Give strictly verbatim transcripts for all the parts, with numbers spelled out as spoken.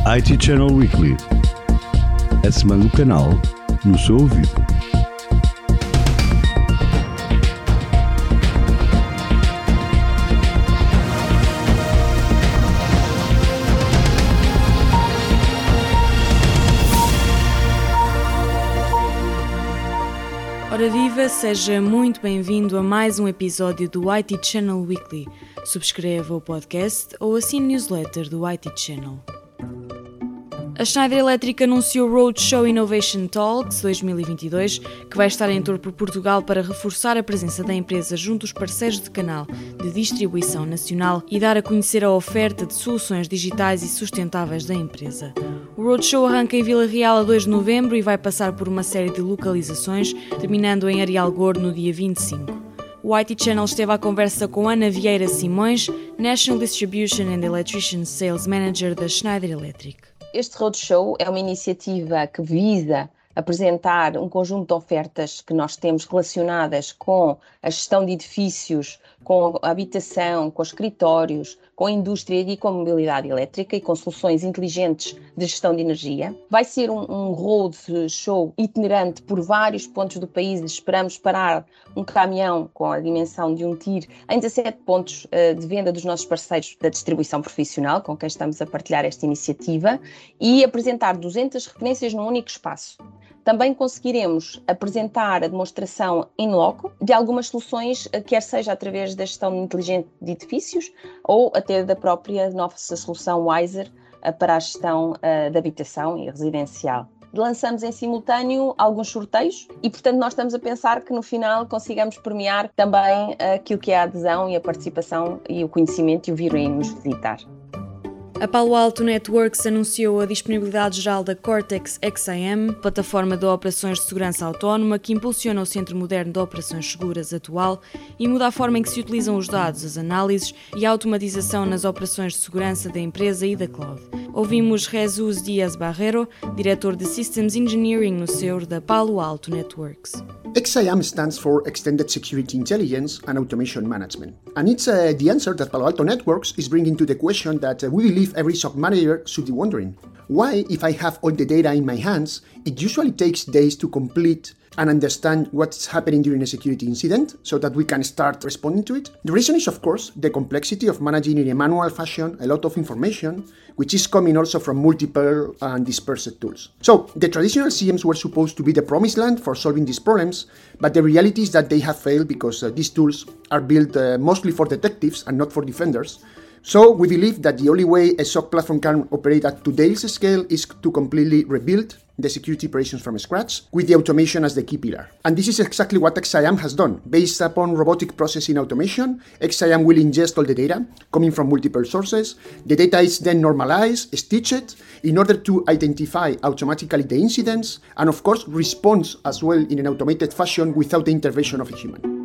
I T Channel Weekly. A semana do canal no seu ouvido. Ora viva, seja muito bem-vindo a mais um episódio do I T Channel Weekly. Subscreva o podcast ou assine a newsletter do I T Channel. A Schneider Electric anunciou o Roadshow Innovation Talks dois mil e vinte e dois, que vai estar em tour por Portugal para reforçar a presença da empresa junto aos parceiros de canal de distribuição nacional e dar a conhecer a oferta de soluções digitais e sustentáveis da empresa. O Roadshow arranca em Vila Real a dois de novembro e vai passar por uma série de localizações, terminando em Areal Gordo no dia vinte e cinco. O I T Channel esteve à conversa com Ana Vieira Simões, National Distribution and Electrician Sales Manager da Schneider Electric. Este Roadshow é uma iniciativa que visa apresentar um conjunto de ofertas que nós temos relacionadas com a gestão de edifícios, com a habitação, com escritórios, com a indústria e com a mobilidade elétrica e com soluções inteligentes de gestão de energia. Vai ser um, um roadshow itinerante por vários pontos do país. Esperamos parar um caminhão com a dimensão de um tir em dezassete pontos uh, de venda dos nossos parceiros da distribuição profissional, com quem estamos a partilhar esta iniciativa, e apresentar duzentas referências num único espaço. Também conseguiremos apresentar a demonstração in loco de algumas soluções, quer seja através da gestão inteligente de edifícios ou até da própria nossa solução Wiser para a gestão uh, de habitação e residencial. Lançamos em simultâneo alguns sorteios e, portanto, nós estamos a pensar que no final consigamos premiar também aquilo que é a adesão e a participação e o conhecimento e o virem nos visitar. A Palo Alto Networks anunciou a disponibilidade geral da Cortex X I M, plataforma de operações de segurança autónoma que impulsiona o Centro Moderno de Operações Seguras atual e muda a forma em que se utilizam os dados, as análises e a automatização nas operações de segurança da empresa e da cloud. Ouvimos Jesus Dias Barrero, diretor de Systems Engineering no C E O da Palo Alto Networks. X I M stands for Extended Security Intelligence and Automation Management, and it's uh, the answer that Palo Alto Networks is bringing to the question that uh, we believe every S O C manager should be wondering. Why, if I have all the data in my hands, it usually takes days to complete and understand what's happening during a security incident so that we can start responding to it? The reason is, of course, the complexity of managing in a manual fashion a lot of information, which is coming also from multiple and dispersed tools. So, the traditional C Ms were supposed to be the promised land for solving these problems, but the reality is that they have failed because uh, these tools are built uh, mostly for detectives and not for defenders. So, we believe that the only way a S O C platform can operate at today's scale is to completely rebuild the security operations from scratch, with the automation as the key pillar. And this is exactly what X I M has done. Based upon robotic processing automation, X I M will ingest all the data coming from multiple sources. The data is then normalized, stitched, in order to identify automatically the incidents, and of course responds as well in an automated fashion without the intervention of a human.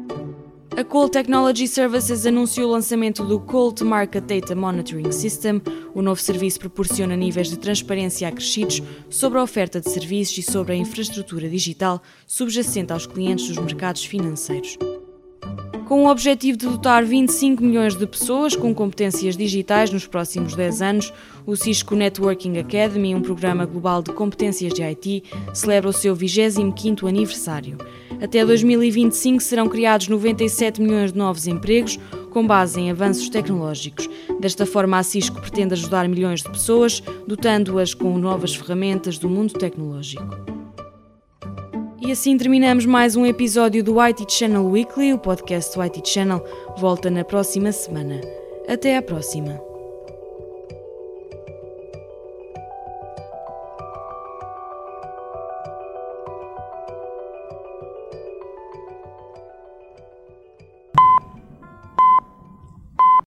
A Colt Technology Services anunciou o lançamento do Colt Market Data Monitoring System. O novo serviço proporciona níveis de transparência acrescidos sobre a oferta de serviços e sobre a infraestrutura digital subjacente aos clientes dos mercados financeiros. Com o objetivo de dotar vinte e cinco milhões de pessoas com competências digitais nos próximos dez anos, o Cisco Networking Academy, um programa global de competências de I T, celebra o seu vigésimo quinto aniversário. Até dois mil e vinte e cinco serão criados noventa e sete milhões de novos empregos, com base em avanços tecnológicos. Desta forma, a Cisco pretende ajudar milhões de pessoas, dotando-as com novas ferramentas do mundo tecnológico. E assim terminamos mais um episódio do I T Channel Weekly. O podcast do I T Channel volta na próxima semana. Até à próxima!